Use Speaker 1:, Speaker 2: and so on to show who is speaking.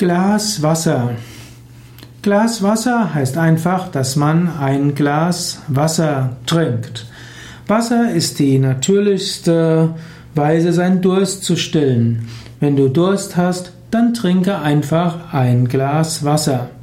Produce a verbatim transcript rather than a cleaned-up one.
Speaker 1: Glas Wasser. Glas Wasser heißt einfach, dass man ein Glas Wasser trinkt. Wasser ist die natürlichste Weise, seinen Durst zu stillen. Wenn du Durst hast, dann trinke einfach ein Glas Wasser.